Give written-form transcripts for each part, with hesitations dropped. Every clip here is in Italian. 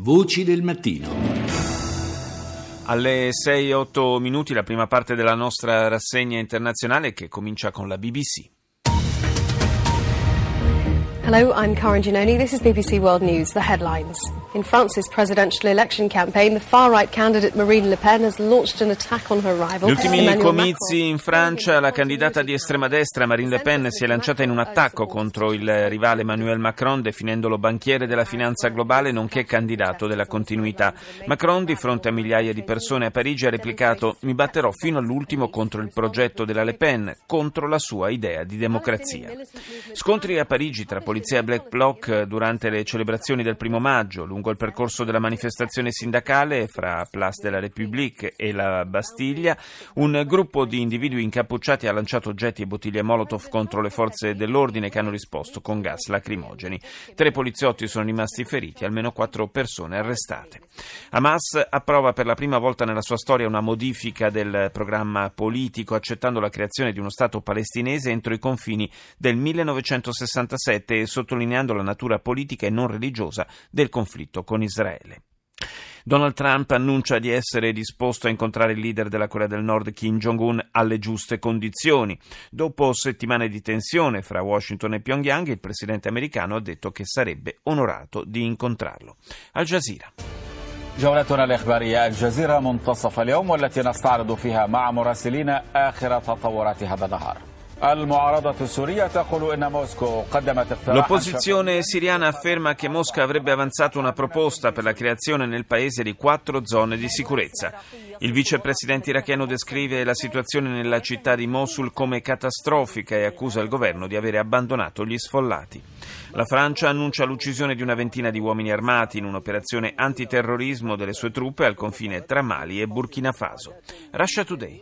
Voci del mattino. Alle 6-8 minuti la prima parte della nostra rassegna internazionale che comincia con la BBC. Hello, I'm Karen Giannoni. This is BBC World News, the headlines. In France's presidential election campaign, the far-right candidate Marine Le Pen has launched an attack on her rival. Gli ultimi comizi in Francia, la candidata di estrema destra Marine Le Pen si è lanciata in un attacco contro il rivale Emmanuel Macron, definendolo banchiere della finanza globale nonché candidato della continuità. Macron, di fronte a migliaia di persone a Parigi, ha replicato: "Mi batterò fino all'ultimo contro il progetto della Le Pen, contro la sua idea di democrazia". Scontri a Parigi tra polizia e Black Bloc durante le celebrazioni del 1 maggio, lungo il percorso della manifestazione sindacale fra Place de la République e la Bastiglia. Un gruppo di individui incappucciati ha lanciato oggetti e bottiglie Molotov contro le forze dell'ordine che hanno risposto con gas lacrimogeni. 3 poliziotti sono rimasti feriti, almeno 4 persone arrestate. Hamas approva per la prima volta nella sua storia una modifica del programma politico, accettando la creazione di uno Stato palestinese entro i confini del 1967 e sottolineando la natura politica e non religiosa del conflitto con Israele. Donald Trump annuncia di essere disposto a incontrare il leader della Corea del Nord Kim Jong-un alle giuste condizioni. Dopo settimane di tensione fra Washington e Pyongyang, il presidente americano ha detto che sarebbe onorato di incontrarlo. Al Jazeera. جولتنا الإخبارية الجزيرة منتصف اليوم والتي نستعرض فيها مع مراسلين آخر تطورات هذا النهار. L'opposizione siriana afferma che Mosca avrebbe avanzato una proposta per la creazione nel paese di 4 zone di sicurezza. Il vicepresidente iracheno descrive la situazione nella città di Mosul come catastrofica e accusa il governo di avere abbandonato gli sfollati. La Francia annuncia l'uccisione di una ventina di uomini armati in un'operazione antiterrorismo delle sue truppe al confine tra Mali e Burkina Faso. Russia Today.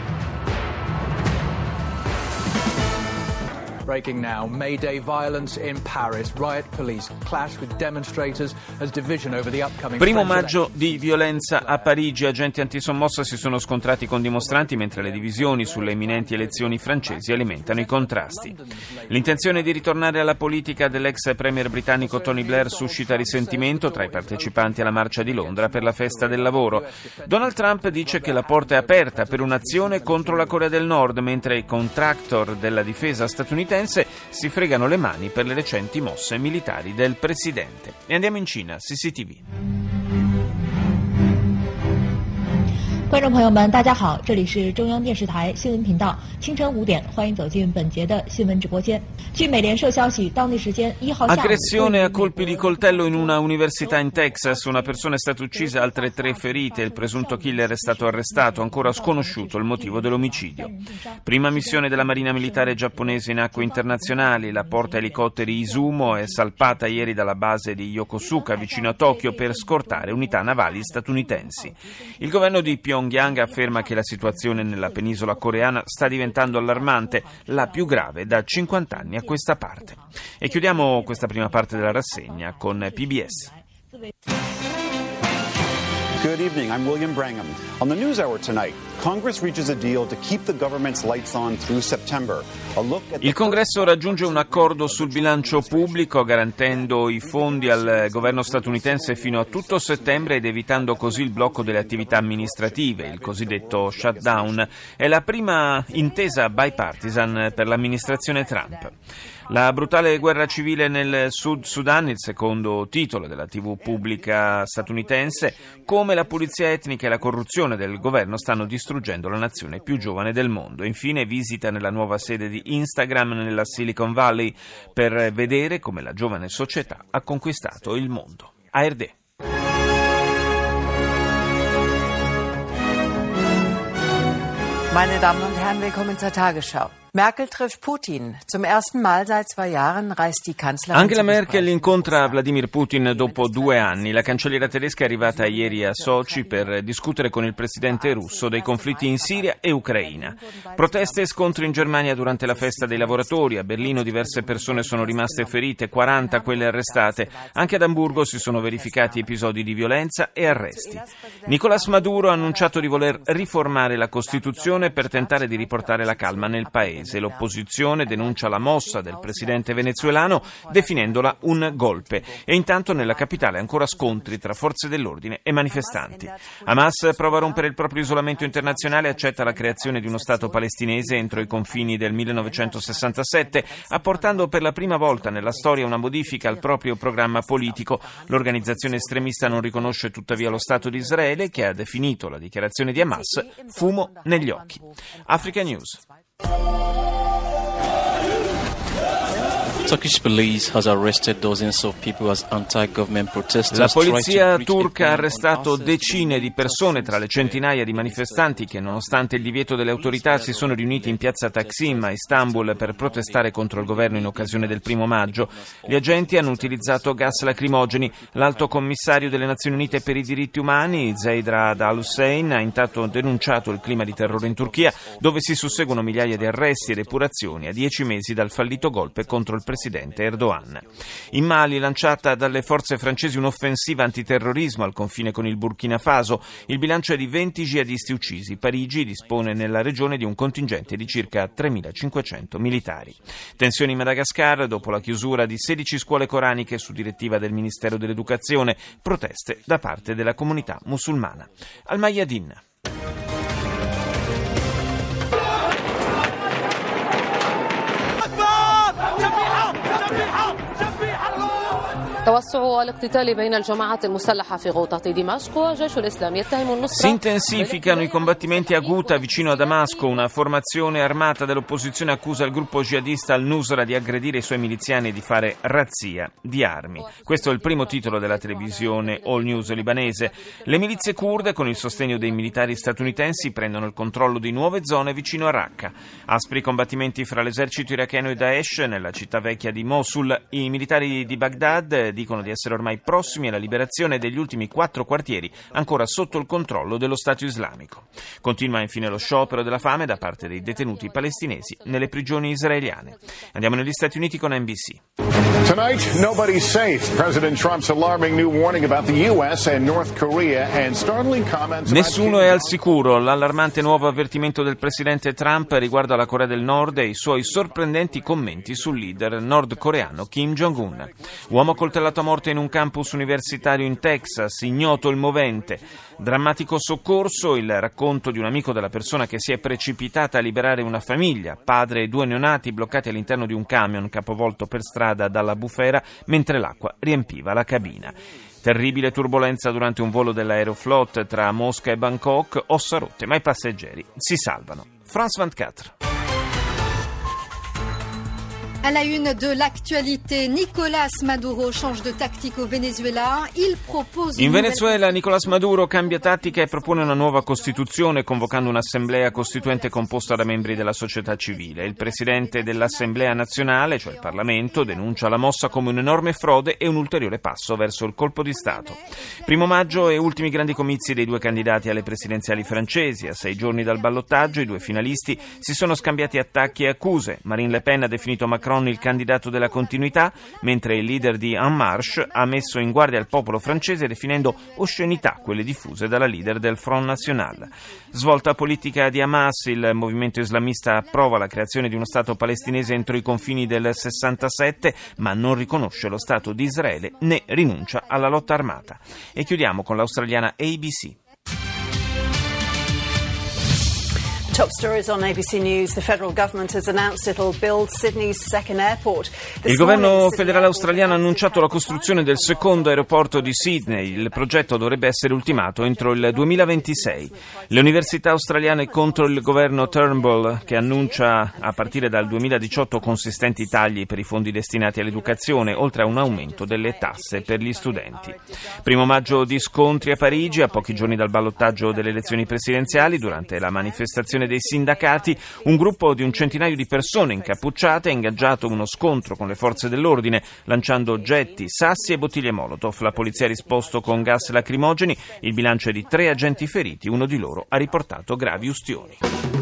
Breaking now, May Day violence in Paris. Riot police clash with demonstrators as division over the upcoming 1 maggio di violenza a Parigi. Agenti antisommossa si sono scontrati con dimostranti mentre le divisioni sulle imminenti elezioni francesi alimentano i contrasti. L'intenzione di ritornare alla politica dell'ex premier britannico Tony Blair suscita risentimento tra i partecipanti alla marcia di Londra per la festa del lavoro. Donald Trump dice che la porta è aperta per un'azione contro la Corea del Nord, mentre i contractor della difesa statunitense si fregano le mani per le recenti mosse militari del presidente. E andiamo in Cina, CCTV. 观众朋友们，大家好，这里是中央电视台新闻频道，清晨5点，欢迎走进本节的新闻直播间。据美联社消息，当地时间1号下午。 Aggressione a colpi di coltello in una università in Texas. Una persona è stata uccisa, altre 3 ferite. Il presunto killer è stato arrestato, ancora sconosciuto il motivo dell'omicidio. Prima missione della Marina Militare giapponese in acque internazionali. La porta elicotteri Izumo è salpata ieri dalla base di Yokosuka, vicino a Tokyo, per scortare unità navali statunitensi. Il governo di Pyongyang afferma che la situazione nella penisola coreana sta diventando allarmante, la più grave da 50 anni a questa parte. E chiudiamo questa prima parte della rassegna con PBS. Good evening, I'm William Brangham. On the NewsHour tonight, Congress reaches a deal to keep the government's lights on through September. Il Congresso raggiunge un accordo sul bilancio pubblico garantendo i fondi al governo statunitense fino a tutto settembre ed evitando così il blocco delle attività amministrative, il cosiddetto shutdown. È la prima intesa bipartisan per l'amministrazione Trump. La brutale guerra civile nel Sud Sudan, il secondo titolo della TV pubblica statunitense, come la pulizia etnica e la corruzione del governo stanno distruggendo la nazione più giovane del mondo. Infine visita nella nuova sede di Instagram nella Silicon Valley per vedere come la giovane società ha conquistato il mondo. ARD. Meine Damen und Herren, willkommen zur Tagesschau. Merkel trifft Putin. Zum ersten Mal seit 2 Jahren reist die Kanzlerin. Angela Merkel incontra Vladimir Putin dopo 2 anni. La cancelliera tedesca è arrivata ieri a Sochi per discutere con il presidente russo dei conflitti in Siria e Ucraina. Proteste e scontri in Germania durante la festa dei lavoratori. A Berlino diverse persone sono rimaste ferite, 40 quelle arrestate. Anche ad Amburgo si sono verificati episodi di violenza e arresti. Nicolás Maduro ha annunciato di voler riformare la Costituzione per tentare di riportare la calma nel paese. palestinese. L'opposizione denuncia la mossa del presidente venezuelano definendola un golpe. E intanto nella capitale ancora scontri tra forze dell'ordine e manifestanti. Hamas prova a rompere il proprio isolamento internazionale e accetta la creazione di uno Stato palestinese entro i confini del 1967, apportando per la prima volta nella storia una modifica al proprio programma politico. L'organizzazione estremista non riconosce tuttavia lo Stato di Israele, che ha definito la dichiarazione di Hamas fumo negli occhi. Africa News. Turkish police has arrested dozens of people as anti-government protesters. La polizia turca ha arrestato decine di persone tra le centinaia di manifestanti che, nonostante il divieto delle autorità, si sono riuniti in piazza Taksim a Istanbul per protestare contro il governo in occasione del 1 maggio. Gli agenti hanno utilizzato gas lacrimogeni. L'alto commissario delle Nazioni Unite per i diritti umani, Zeid Ra'ad al-Hussein, ha intanto denunciato il clima di terrore in Turchia, dove si susseguono migliaia di arresti ed epurazioni a 10 mesi dal fallito golpe contro il presidente Erdogan. In Mali, lanciata dalle forze francesi un'offensiva antiterrorismo al confine con il Burkina Faso, il bilancio è di 20 jihadisti uccisi. Parigi dispone nella regione di un contingente di circa 3.500 militari. Tensioni in Madagascar dopo la chiusura di 16 scuole coraniche su direttiva del Ministero dell'Educazione, proteste da parte della comunità musulmana. Al Mayadin. Si intensificano i combattimenti a Ghouta vicino a Damasco. Una formazione armata dell'opposizione accusa il gruppo jihadista al-Nusra di aggredire i suoi miliziani e di fare razzia di armi. Questo è il primo titolo della televisione All News libanese. Le milizie kurde, con il sostegno dei militari statunitensi, prendono il controllo di nuove zone vicino a Raqqa. Aspri combattimenti fra l'esercito iracheno e Daesh nella città vecchia di Mosul. I militari di Baghdad dicono di essere ormai prossimi alla liberazione degli ultimi 4 quartieri ancora sotto il controllo dello Stato islamico. Continua infine lo sciopero della fame da parte dei detenuti palestinesi nelle prigioni israeliane. Andiamo negli Stati Uniti con NBC. Tonight, nobody's safe. President Trump's alarming new warning about the US and North Korea and startling comments. Nessuno è al sicuro. L'allarmante nuovo avvertimento del presidente Trump riguarda la Corea del Nord e i suoi sorprendenti commenti sul leader nordcoreano Kim Jong-un. Uomo coltellato a morte in un campus universitario in Texas, ignoto il movente. Drammatico soccorso, il racconto di un amico della persona che si è precipitata a liberare una famiglia, padre e 2 neonati bloccati all'interno di un camion capovolto per strada dalla bufera mentre l'acqua riempiva la cabina. Terribile turbolenza durante un volo dell'Aeroflot tra Mosca e Bangkok, ossa rotte, ma i passeggeri si salvano. France 24. À la une de l'actualité, Nicolás Maduro change de tactique au Venezuela. Il propose In Venezuela Nicolás Maduro cambia tattica e propone una nuova Costituzione, convocando un'assemblea costituente composta da membri della società civile. Il presidente dell'Assemblea nazionale, cioè il Parlamento, denuncia la mossa come un'enorme frode e un ulteriore passo verso il colpo di Stato. 1 maggio e ultimi grandi comizi dei 2 candidati alle presidenziali francesi. A 6 giorni dal ballottaggio i 2 finalisti si sono scambiati attacchi e accuse. Marine Le Pen ha definito Macron il candidato della continuità, mentre il leader di En Marche ha messo in guardia il popolo francese definendo oscenità quelle diffuse dalla leader del Front National. Svolta politica di Hamas, il movimento islamista approva la creazione di uno Stato palestinese entro i confini del 67, ma non riconosce lo Stato di Israele né rinuncia alla lotta armata. E chiudiamo con l'australiana ABC. Top stories on ABC News. The federal government has announced it'll build Sydney's second airport. Il governo federale australiano ha annunciato la costruzione del secondo aeroporto di Sydney. Il progetto dovrebbe essere ultimato entro il 2026. Le università australiane contro il governo Turnbull, che annuncia a partire dal 2018 consistenti tagli per i fondi destinati all'educazione, oltre a un aumento delle tasse per gli studenti. 1 maggio di scontri a Parigi, a pochi giorni dal ballottaggio delle elezioni presidenziali. Durante la manifestazione dei sindacati, un gruppo di un centinaio di persone incappucciate ha ingaggiato uno scontro con le forze dell'ordine, lanciando oggetti, sassi e bottiglie Molotov. La polizia ha risposto con gas lacrimogeni. Il bilancio è di 3 agenti feriti, uno di loro ha riportato gravi ustioni.